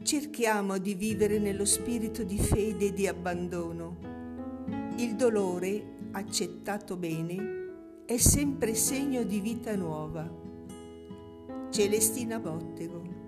Cerchiamo di vivere nello spirito di fede e di abbandono. Il dolore, accettato bene, è sempre segno di vita nuova. Celestina Bottego.